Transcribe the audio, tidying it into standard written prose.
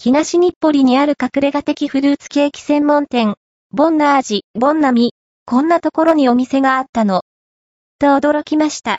東日暮里にある隠れ家的フルーツケーキ専門店、ボンナージ、ボンナミ。こんなところにお店があったの。と驚きました。